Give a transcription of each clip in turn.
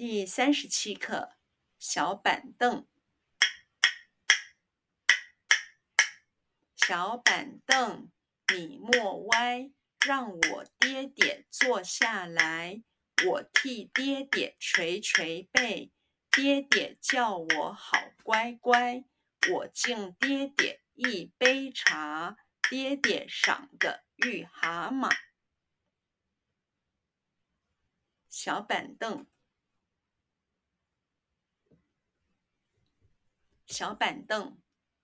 第37課，小板凳。小板凳，你莫歪，讓我爹爹坐下來。我替爹爹捶捶背，爹爹叫我好乖乖。我敬爹爹一杯茶，爹爹賞個玉蛤蟆。小板凳，小板凳，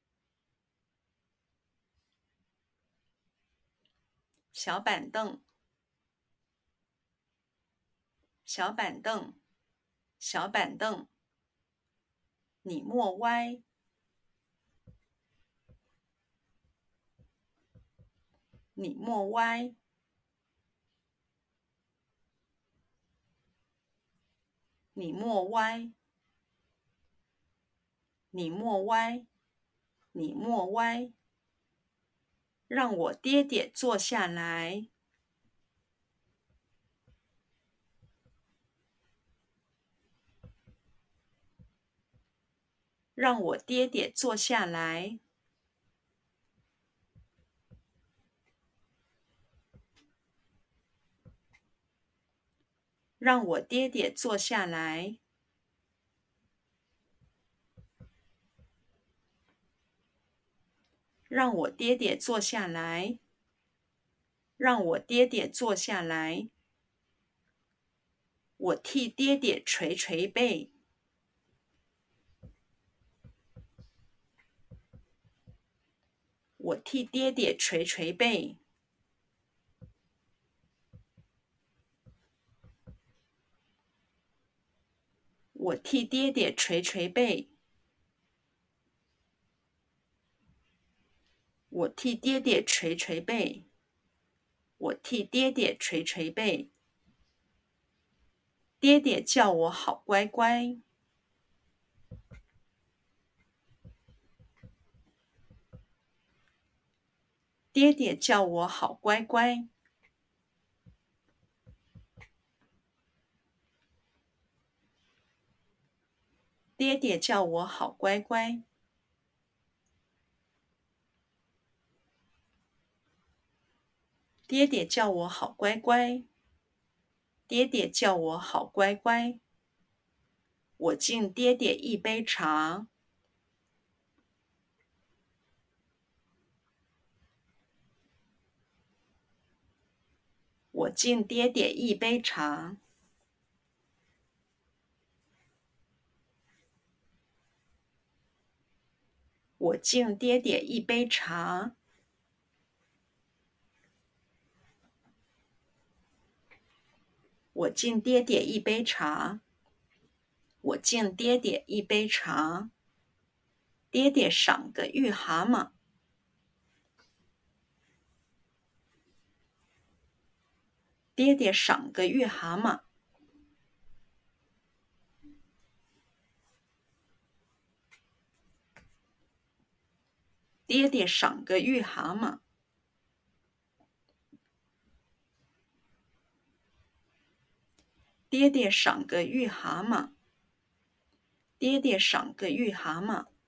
小板凳，小板凳，小板凳，你莫歪，你莫歪，你莫歪，你莫歪，你莫歪，讓我爹爹坐下來。讓我爹爹坐下來。讓我爹爹坐下來。讓我爹爹坐下來。讓我爹爹坐下來。我替爹爹捶捶背。我替爹爹捶捶背。我替爹爹捶捶背。我替爹爹捶捶背。我替爹爹捶捶背。爹爹叫我好乖乖。爹爹叫我好乖乖。爹爹叫我好乖乖。爹爹叫我好乖乖。爹爹叫我好乖乖。我敬爹爹一杯茶。我敬爹爹一杯茶。我敬爹爹一杯茶。我敬爹爹一杯茶。我敬爹爹一杯茶。爹爹賞個玉蛤蟆。爹爹賞個玉蛤蟆。爹爹賞個玉蛤蟆。爹爹賞個玉蛤蟆。爹爹賞個玉蛤蟆。